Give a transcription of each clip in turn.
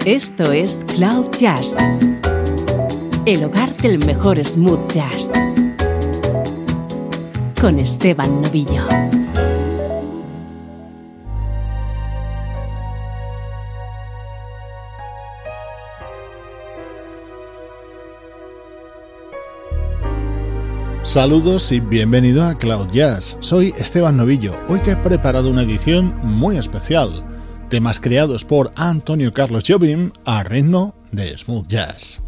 Esto es Cloud Jazz, el hogar del mejor smooth jazz, con Esteban Novillo. Saludos y bienvenido a Cloud Jazz. Soy Esteban Novillo. Hoy te he preparado una edición muy especial. Temas creados por Antonio Carlos Jobim a ritmo de smooth jazz.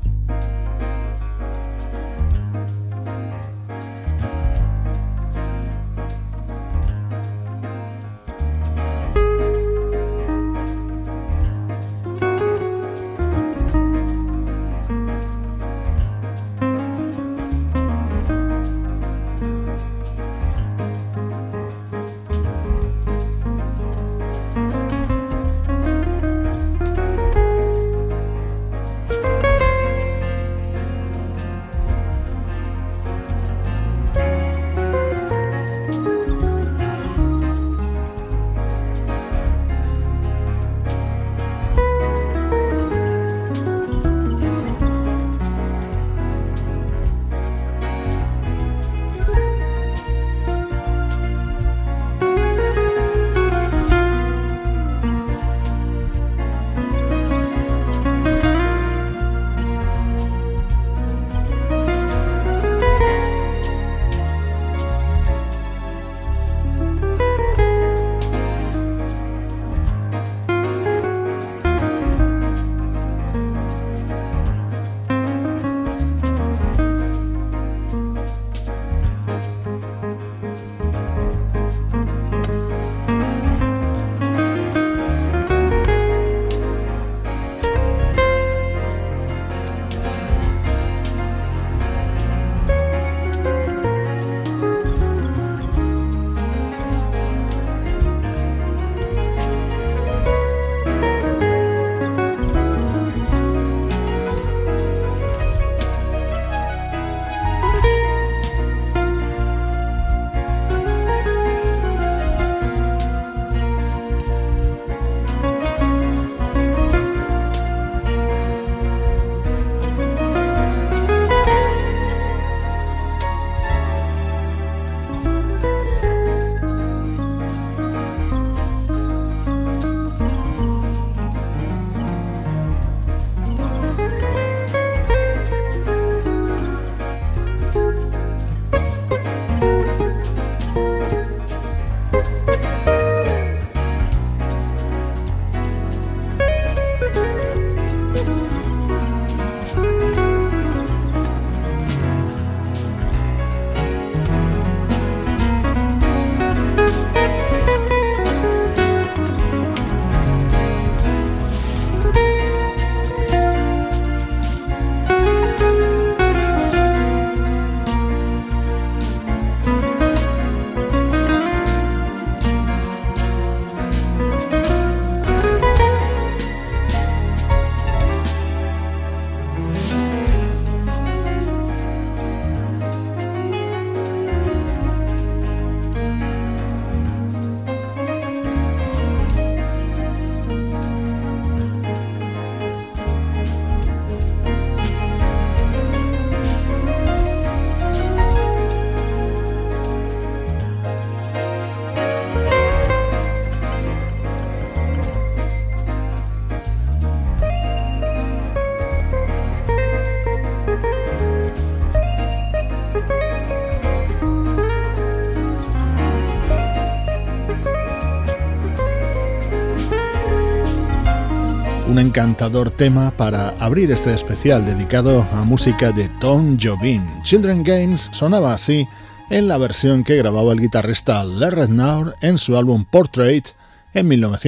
Un encantador tema para abrir este especial dedicado a música de Tom Jobim. Children Games sonaba así en la versión que grababa el guitarrista Larry Naur en su álbum Portrait en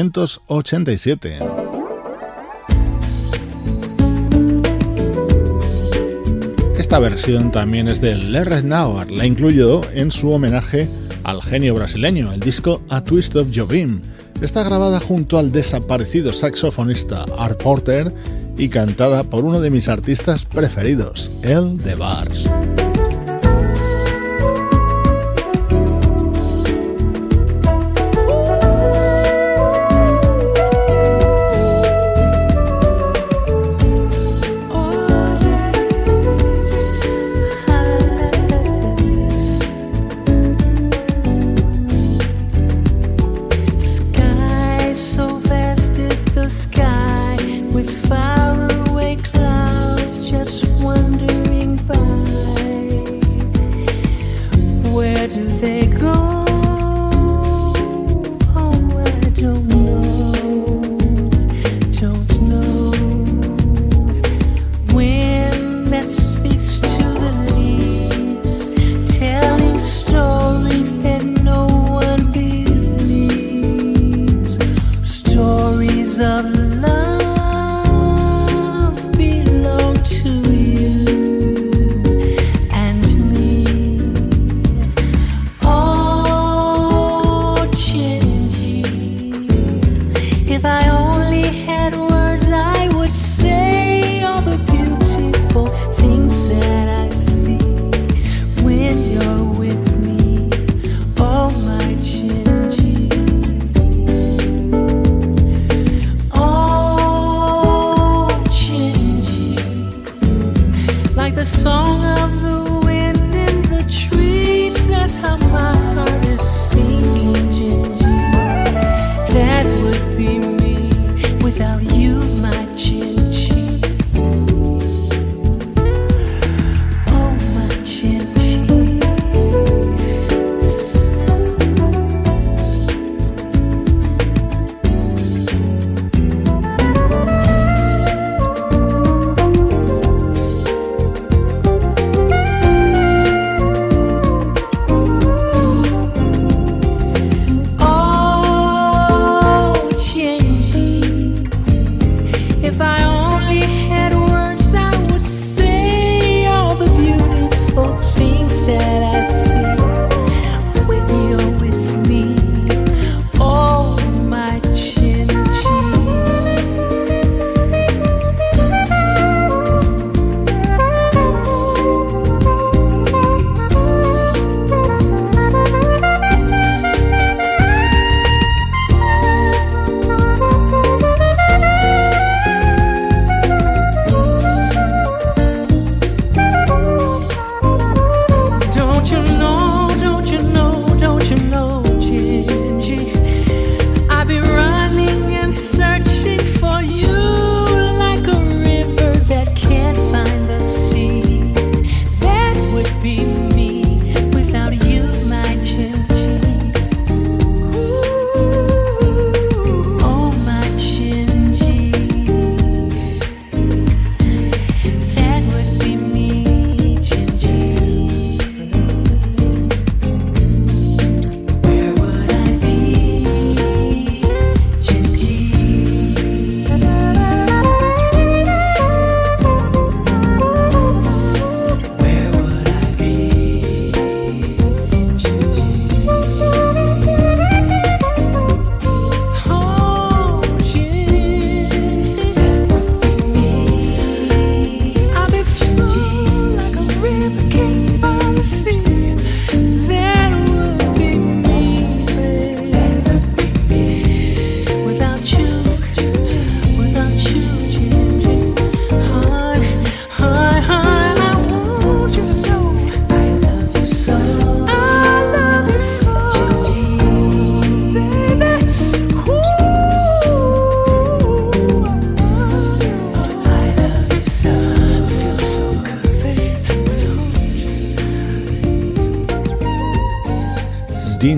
1987. Esta versión también es de Larry Naur, la incluyó en su homenaje al genio brasileño, el disco A Twist of Jobim. Está grabada junto al desaparecido saxofonista Art Porter y cantada por uno de mis artistas preferidos, El de Bars.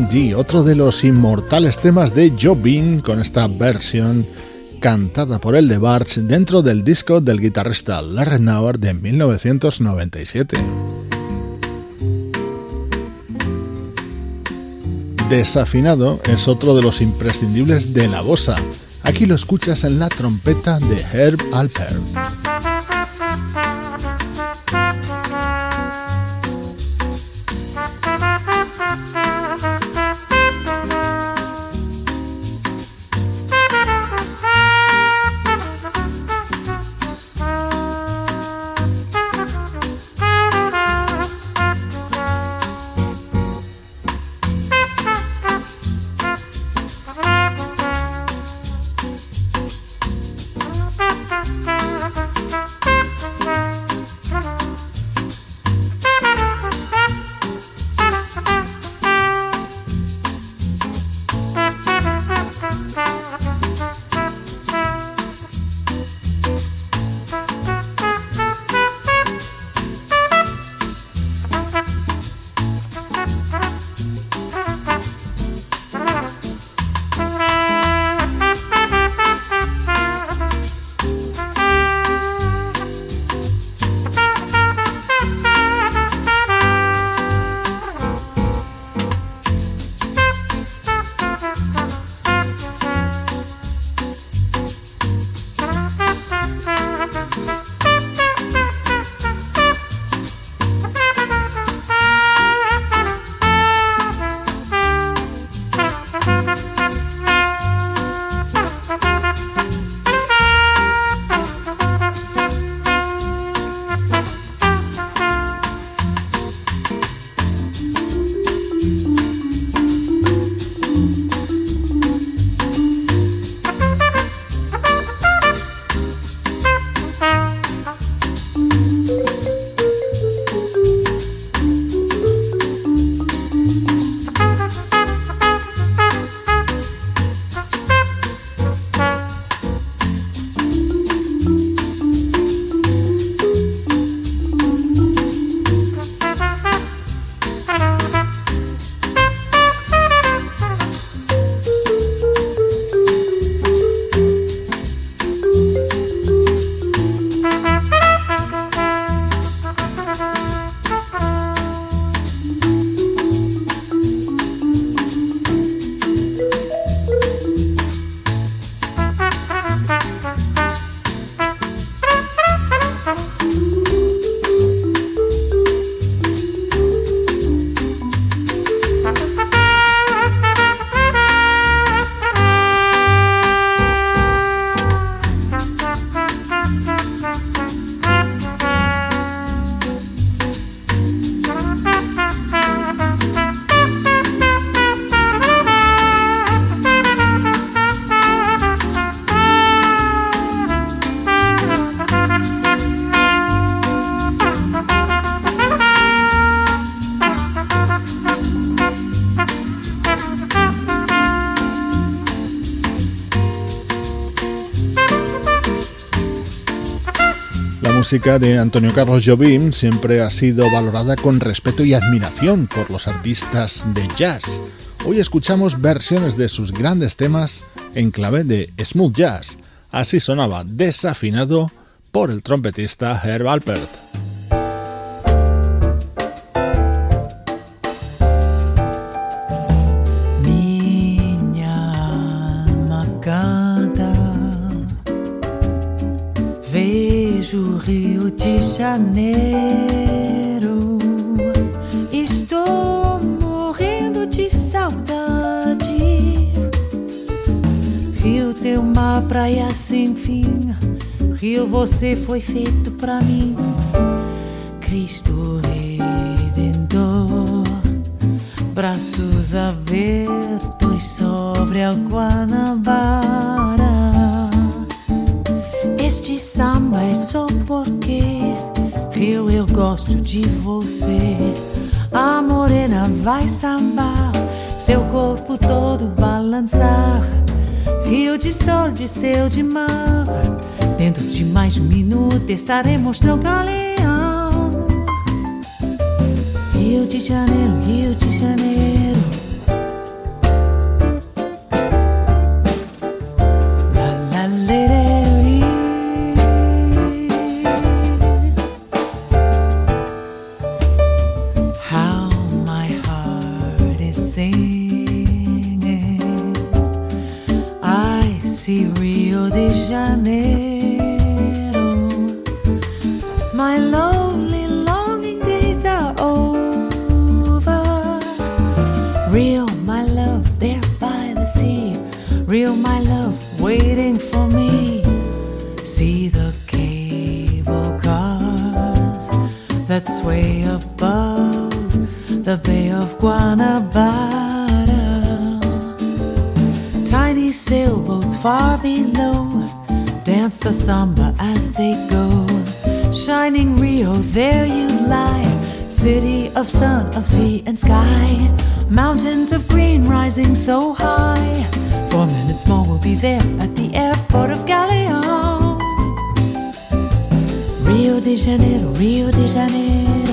D, otro de los inmortales temas de Jobim, con esta versión cantada por el DeBarge dentro del disco del guitarrista Larry Nauer de 1997. Desafinado es otro de los imprescindibles de la bossa. Aquí lo escuchas en la trompeta de Herb Alpert. La música de Antonio Carlos Jobim siempre ha sido valorada con respeto y admiración por los artistas de jazz. Hoy escuchamos versiones de sus grandes temas en clave de smooth jazz. Así sonaba Desafinado por el trompetista Herb Alpert. Vejo Rio de Janeiro, estou morrendo de saudade. Rio tem uma praia sem fim, Rio você foi feito pra mim. Cristo Redentor, braços abertos sobre a Guanabara. Este samba é só porque Rio, eu gosto de você. A morena vai sambar, seu corpo todo balançar. Rio de sol, de céu, de mar. Dentro de mais um minuto estaremos no galeão. Rio de Janeiro, Rio de Janeiro. real my love waiting for me. See the cable cars that sway above the Bay of Guanabara. Tiny sailboats far below dance the samba as they go. Shining Rio, there you lie, city of sun, of sea and sky. Mountains of green rising so high. 4 minutes more we'll be there at the airport of Galeão. Rio de Janeiro, Rio de Janeiro.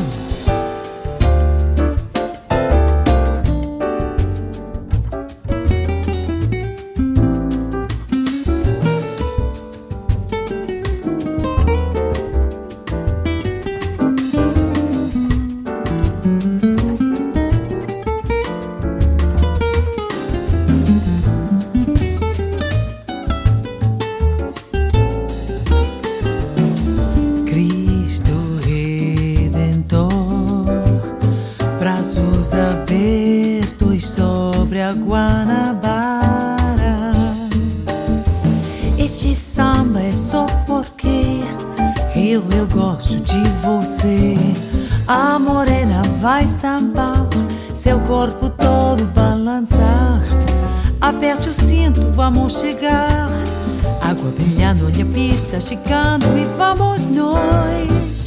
Corpo todo balançar. Aperte o cinto, vamos chegar. Água brilhando, olha a pista chegando e vamos nós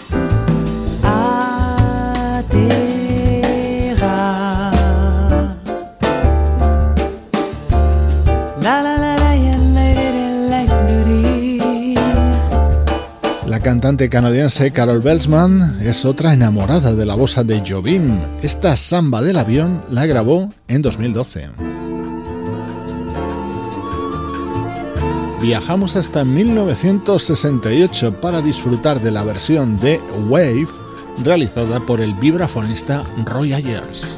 aterrar. La la la la La cantante canadiense Carol Belsman es otra enamorada de la bossa de Jobim. Esta samba del avión la grabó en 2012. Viajamos hasta 1968 para disfrutar de la versión de Wave realizada por el vibrafonista Roy Ayers.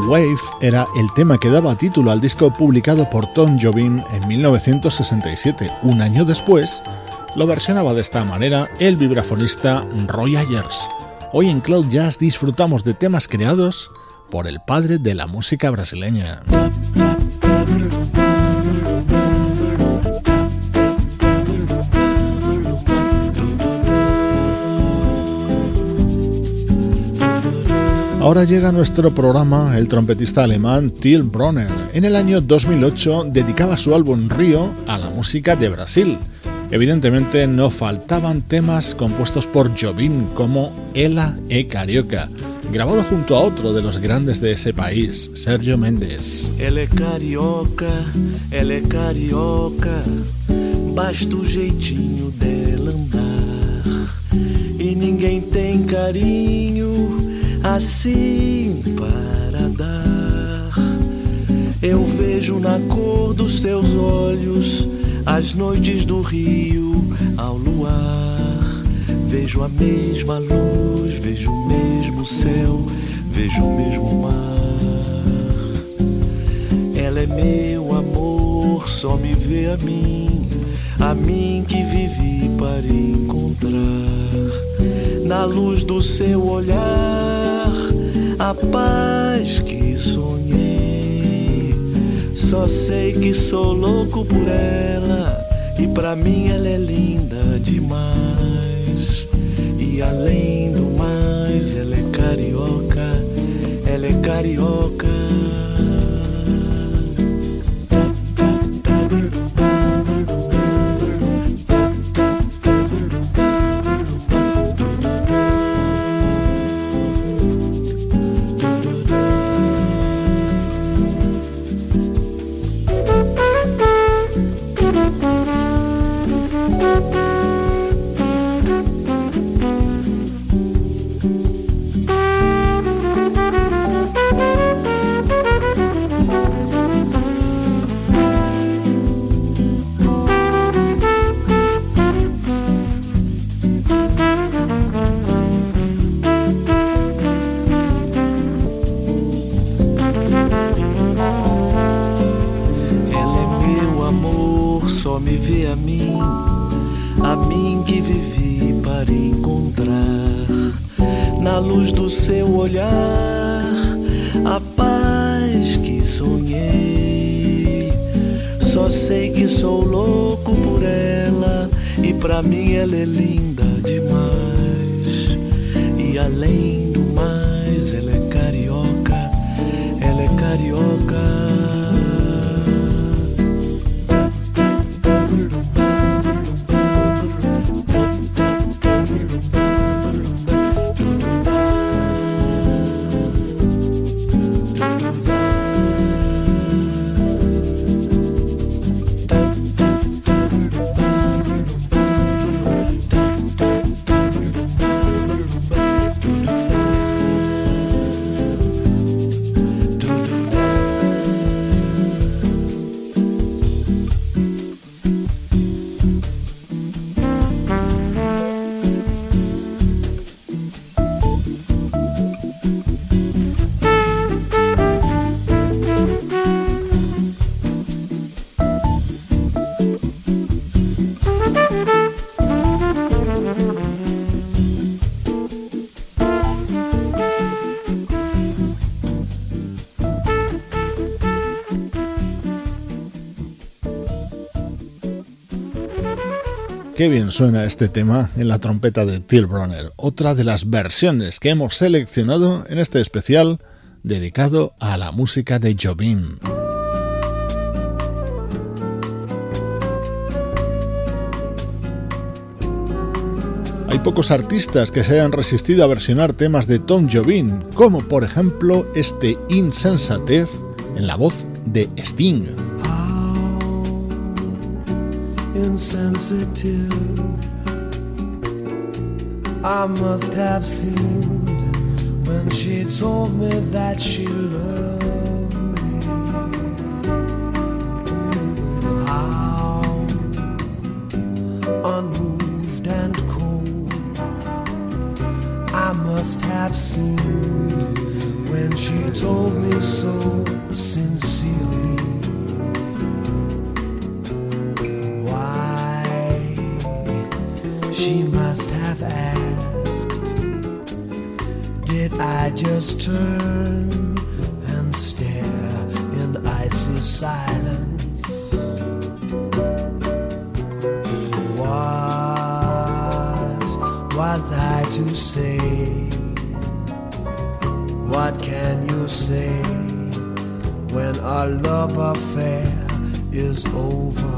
Wave era el tema que daba título al disco publicado por Tom Jobim en 1967. Un año después, lo versionaba de esta manera el vibrafonista Roy Ayers. Hoy en Cloud Jazz disfrutamos de temas creados por el padre de la música brasileña. Ahora llega a nuestro programa el trompetista alemán Till Brönner. En el año 2008 dedicaba su álbum Rio a la música de Brasil. Evidentemente no faltaban temas compuestos por Jobim como Ela é Carioca, grabado junto a otro de los grandes de ese país, Sérgio Mendes. Ela é carioca, basta o jeitinho dela andar. E ninguém tem carinho assim para dar. Eu vejo na cor dos seus olhos as noites do Rio ao luar. Vejo a mesma luz, vejo o mesmo céu, vejo o mesmo mar. Ela é meu amor, só me vê a mim que vivi para encontrar. Na luz do seu olhar, a paz que sonhei. Só sei que sou louco por ela, e pra mim ela é linda demais. E além do mais, ela é carioca, ela é carioca. A mim que vivi para encontrar. Na luz do seu olhar, a paz que sonhei. Só sei que sou louco por ela, e pra mim ela é linda demais. E além do mais, ela é carioca, ela é carioca. Qué bien suena este tema en la trompeta de Till Brönner, otra de las versiones que hemos seleccionado en este especial dedicado a la música de Jobim. Hay pocos artistas que se hayan resistido a versionar temas de Tom Jobim, como por ejemplo este Insensatez en la voz de Sting. Insensitive, I must have seemed when she told me that she loved me. How unmoved and cold I must have seemed when she told me so sincerely. Why she must have asked, did I just turn and stare in icy silence? What was I to say? What can you say when our love affair is over?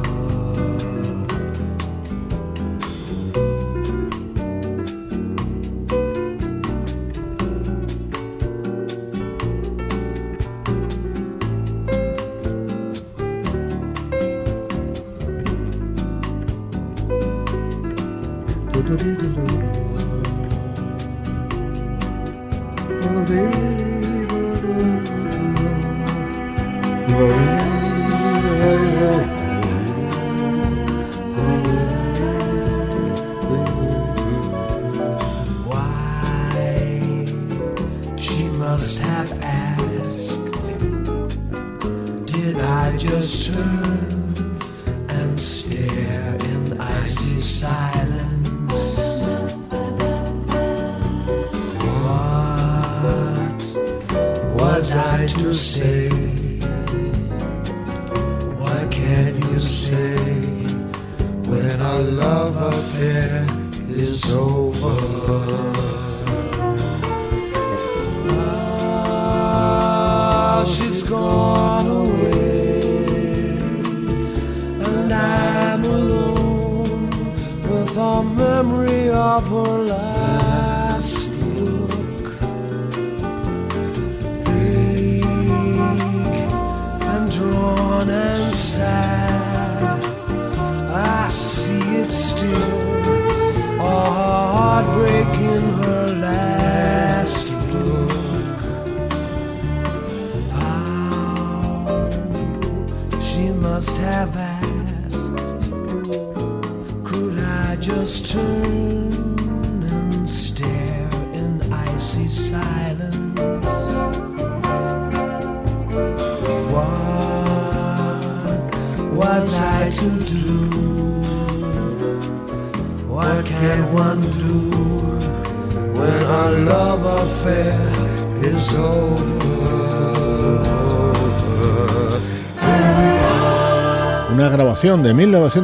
Una grabación de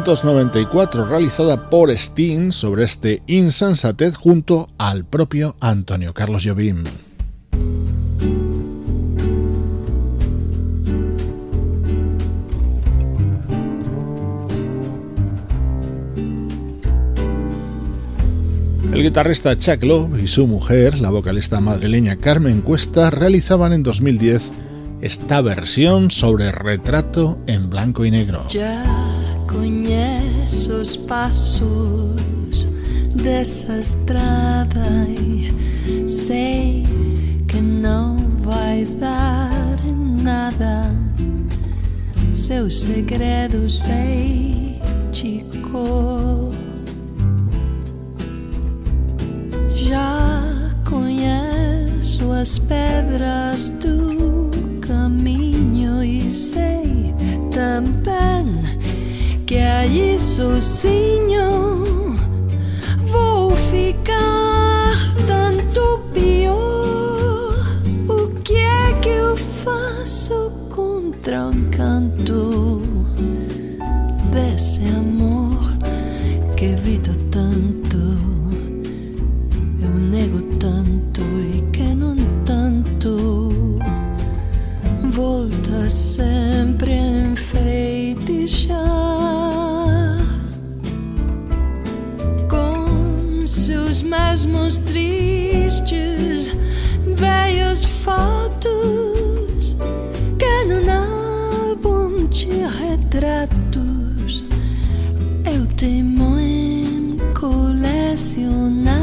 1994 realizada por Sting sobre este Insensatez junto al propio Antonio Carlos Jobim. El guitarrista Chuck Love y su mujer, la vocalista madrileña Carmen Cuesta, realizaban en 2010 esta versión sobre Retrato en blanco y negro. Já conheço os passos dessa estrada e sei que não vai dar em nada. Seus segredos sei de cor. Já conheço as pedras do caminho e sei também que aí sozinho vou ficar tanto pior. O que é que eu faço contra o encanto desse amor que evito tanto? Eu nego tanto e que no entanto volta sempre a enfeitiçar com seus mesmos tristes velhos fotos que num álbum de retratos eu teimo em colecionar.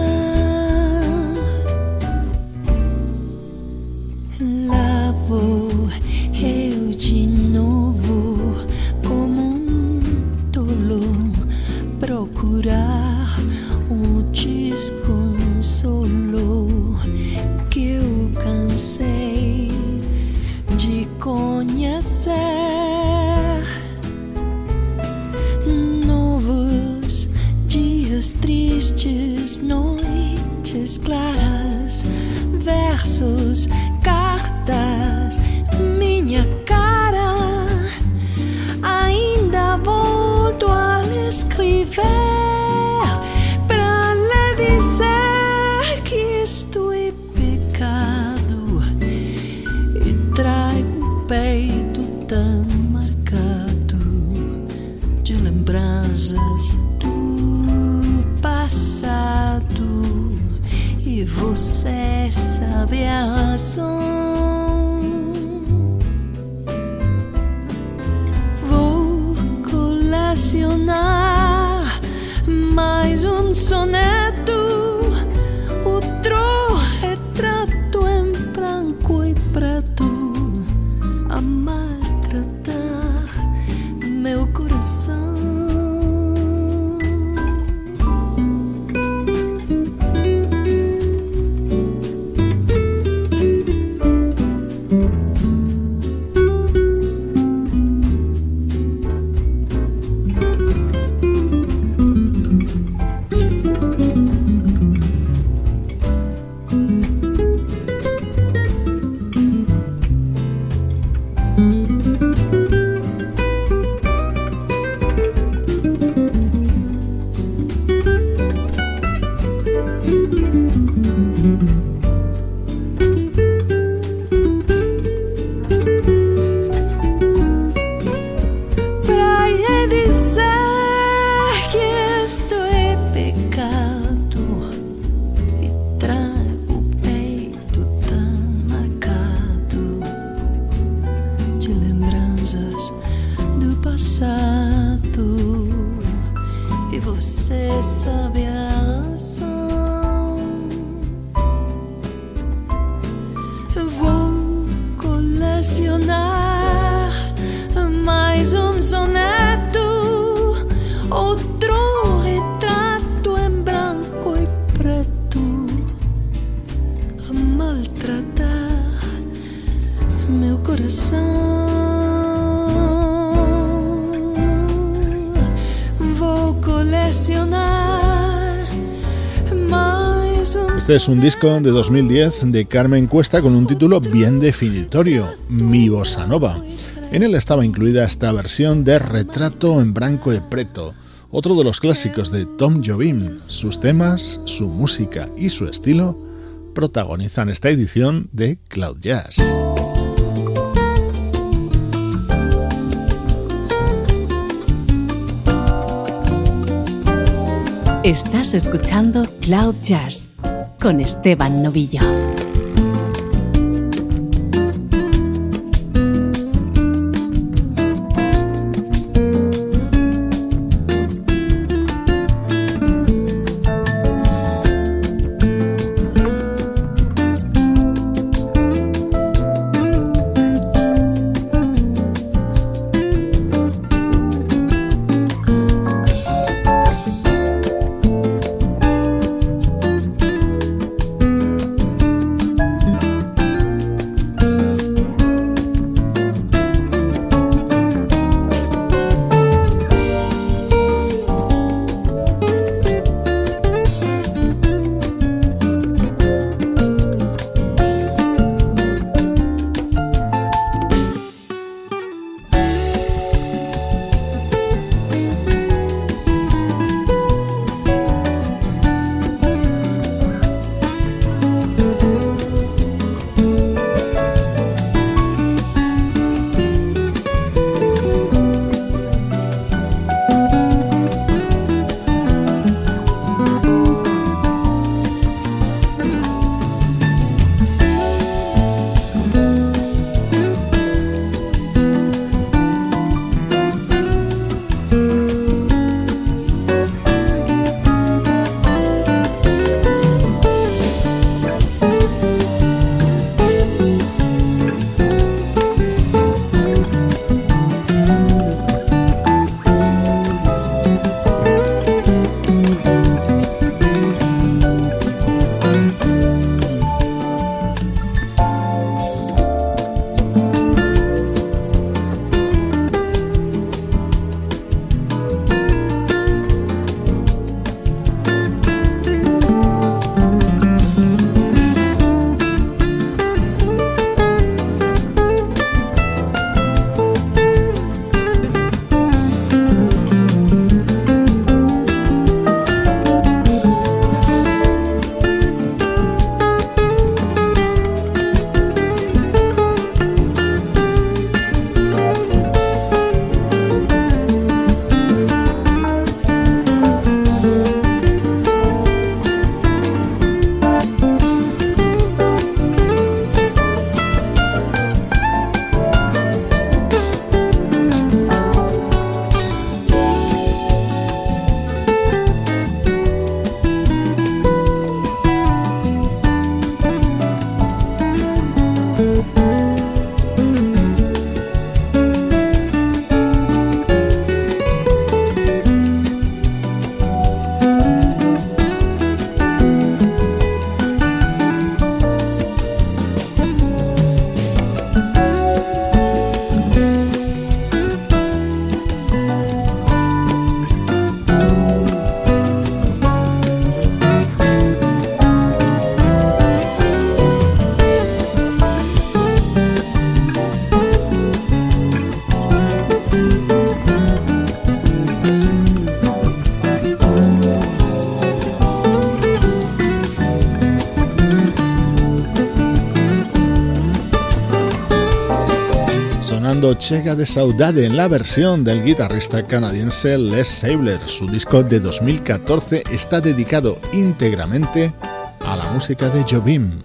Lá vou eu de novo como tolo procurar o desconsolo que eu cansei Nessas noites claras, versos, cartas, minha cara, ainda volto a lhe escrever para lhe dizer que isto é pecado e trago o peito tão marcado de lembranças do passado, e você sabe a razão. Vou colecionar mais soneto, outro retrato em branco e preto, a maltratar meu coração. Este es un disco de 2010 de Carmen Cuesta con un título bien definitorio, Mi Bossa Nova. En él estaba incluida esta versión de Retrato en Branco e Preto, otro de los clásicos de Tom Jobim. Sus temas, su música y su estilo protagonizan esta edición de Cloud Jazz. Estás escuchando Cloud Jazz con Esteban Novillo. escuchando Chega de Saudade en la versión del guitarrista canadiense Les Sabler. Su disco de 2014 está dedicado íntegramente a la música de Jobim.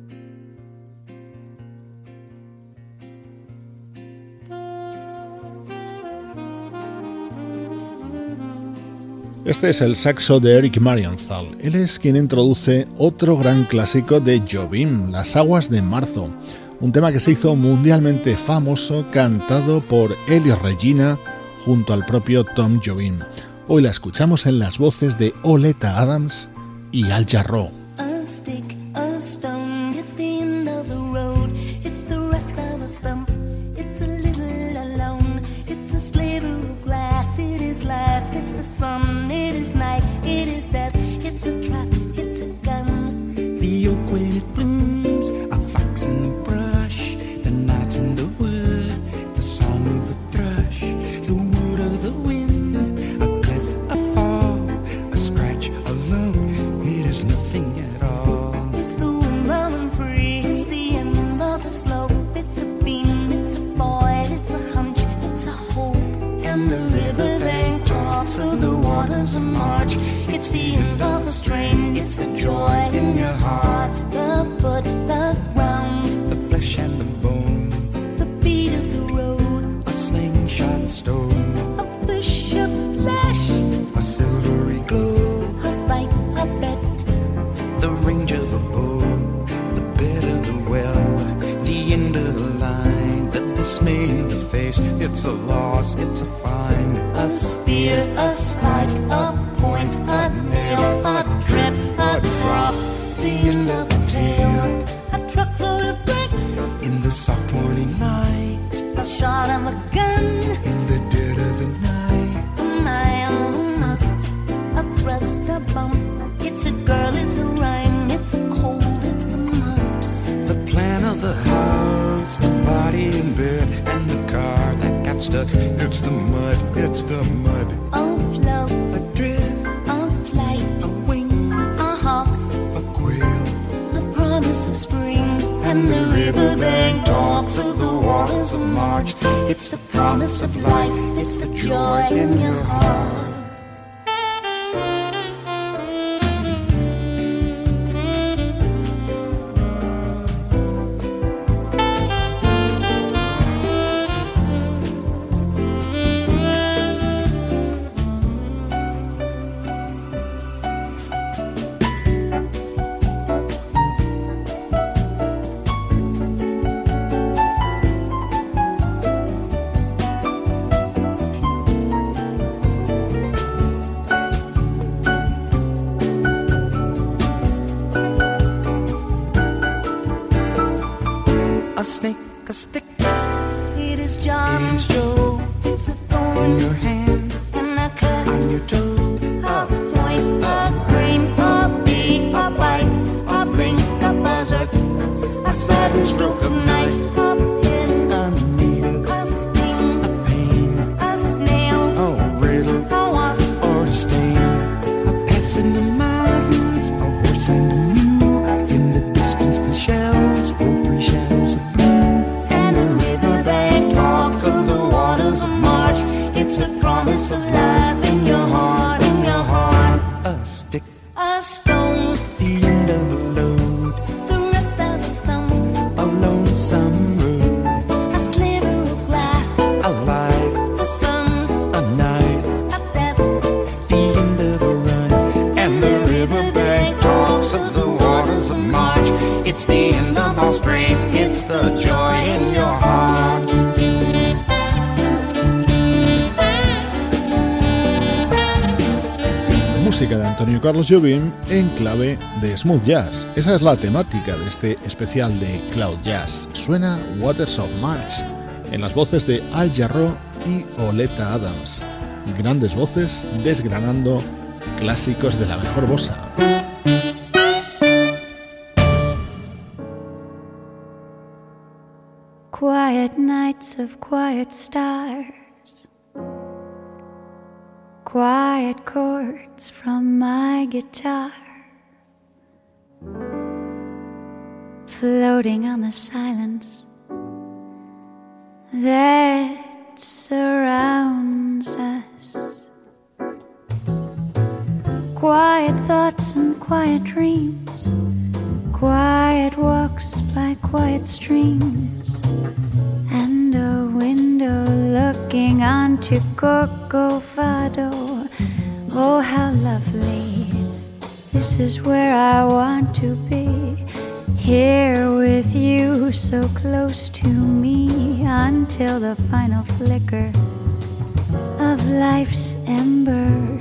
Este es el saxo de Eric Marienthal. Él es quien introduce otro gran clásico de Jobim, Las aguas de marzo, un tema que se hizo mundialmente famoso cantado por Ellie Regina junto al propio Tom Jobim. Hoy la escuchamos en las voces de Oleta Adams y Al Jarreau. A stick, a stone, it's the end of the road, it's the rest of a stump, it's a little alone, it's a sliver of glass, it is life, it's the sun, it is night, it is death, it's a trap, it's a gun. The oak when it blooms, a fox in the brush, the night in the wood, the song of the thrush, the wood of the wind, a cliff, a fall, a scratch, a lump, it is nothing at all. It's the wind blowing free, it's the end of the slope, it's a beam, it's a void, it's a hunch, it's a hope. And the riverbank talks of the waters of March, it's the end of the strain, it's the joy in your heart, the foot, the ground, The flesh and the bone, the beat of the road, a slingshot stone, a fish, a flash, a silvery glow, a fight, a bet, the range of a bow, the bed of the well, the end of the line, the dismay in the face, it's a loss, it's a find, a spear, a spike, a point, a nail, a trip, a drop, the end of a tale, a truckload of bricks, in the soft morning light, a shot of a gun, in the dead of the night, a mile, a must, a thrust, a bump, it's a girl, it's a rhyme, it's a cold, it's the mumps. the plan of the house, the body in bed, and the car that got stuck, it's the mud, it's the mud, A float, a drift, a flight, a wing, a hawk, a quail, a promise of spring. And the riverbank talks of the waters of March. It's the promise of life, it's the joy in your heart. a snake, a stick, It is John, it is Joe, it's a in thorn, your hand, and a cut, on your toe, a point, a grain, a bee, a bite, a blink, a buzzard, a sudden stroke of night, a pin, a needle, a sting, a pain, a snail, a riddle, a wasp, or a stain, a pass in the mountains, a horse and a mule, in the distance the shells, rotary shadows of blue, and the riverbank talks of the waters of March. It's the promise of life in your heart, in your heart. a stick, A stone, the end of the load, the rest of a stump, a lonesome road, a sliver of glass, a life, the sun, a night, a death. the end of the run, and the riverbank talks of the waters of March. It's the end of our strain, it's the joy in your heart. Música de Antonio Carlos Jobim en clave de smooth jazz. Esa es la temática de este especial de Cloud Jazz. Suena Waters of March en las voces de Al Jarreau y Oleta Adams. Grandes voces desgranando clásicos de la mejor bossa. Quiet nights of quiet stars, quiet chords from my guitar, floating on the silence that surrounds us. Quiet thoughts and quiet dreams, quiet walks by quiet streams, and a window looking onto Corcovado. Oh, how lovely, this is where I want to be, here with you so close to me, until the final flicker of life's ember.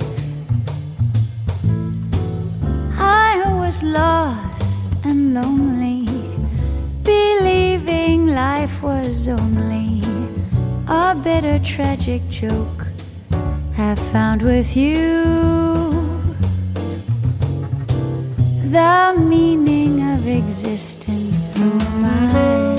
I was lost and lonely, believing life was only a bitter tragic joke, have found with you the meaning of existence. Oh, my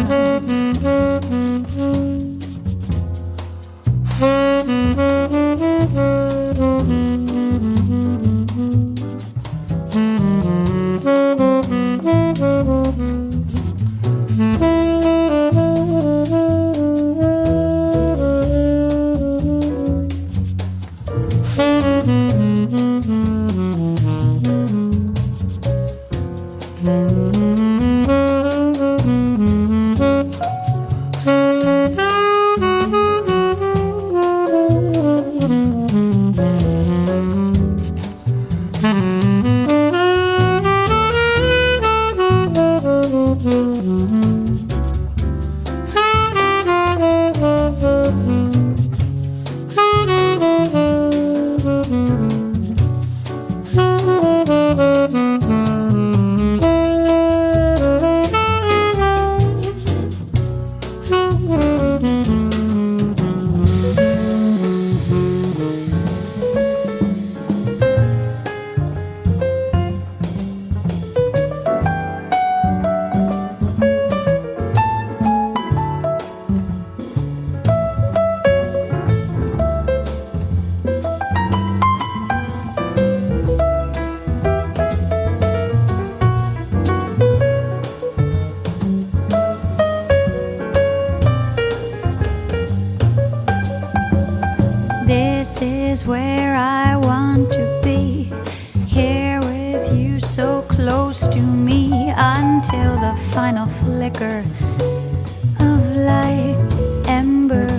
where I want to be, here with you so close to me, until the final flicker of life's ember.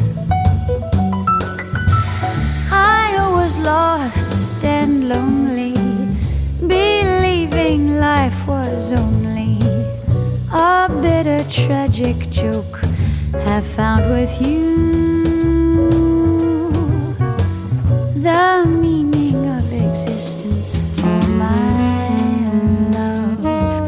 I was lost and lonely, believing life was only a bitter tragic joke, have found with you the meaning of existence, oh my love.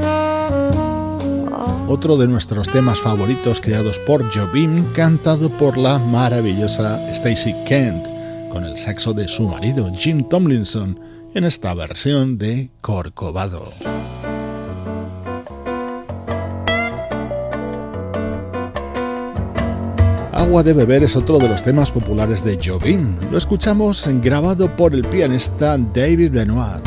Oh. Otro de nuestros temas favoritos creados por Jobim, cantado por la maravillosa Stacey Kent, con el saxo de su marido Jim Tomlinson, en esta versión de Corcovado. Agua de beber es otro de los temas populares de Jobim. Lo escuchamos grabado por el pianista David Benoit.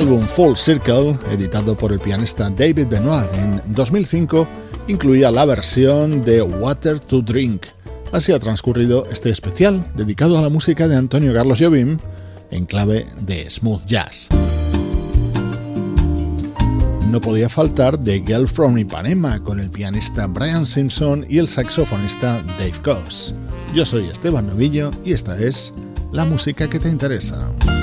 álbum Full Circle, editado por el pianista David Benoit en 2005, incluía la versión de Water to Drink. Así ha transcurrido este especial dedicado a la música de Antonio Carlos Jobim en clave de smooth jazz. No podía faltar The Girl from Ipanema con el pianista Brian Simpson y el saxofonista Dave Koz. Yo soy Esteban Novillo y esta es la música que te interesa.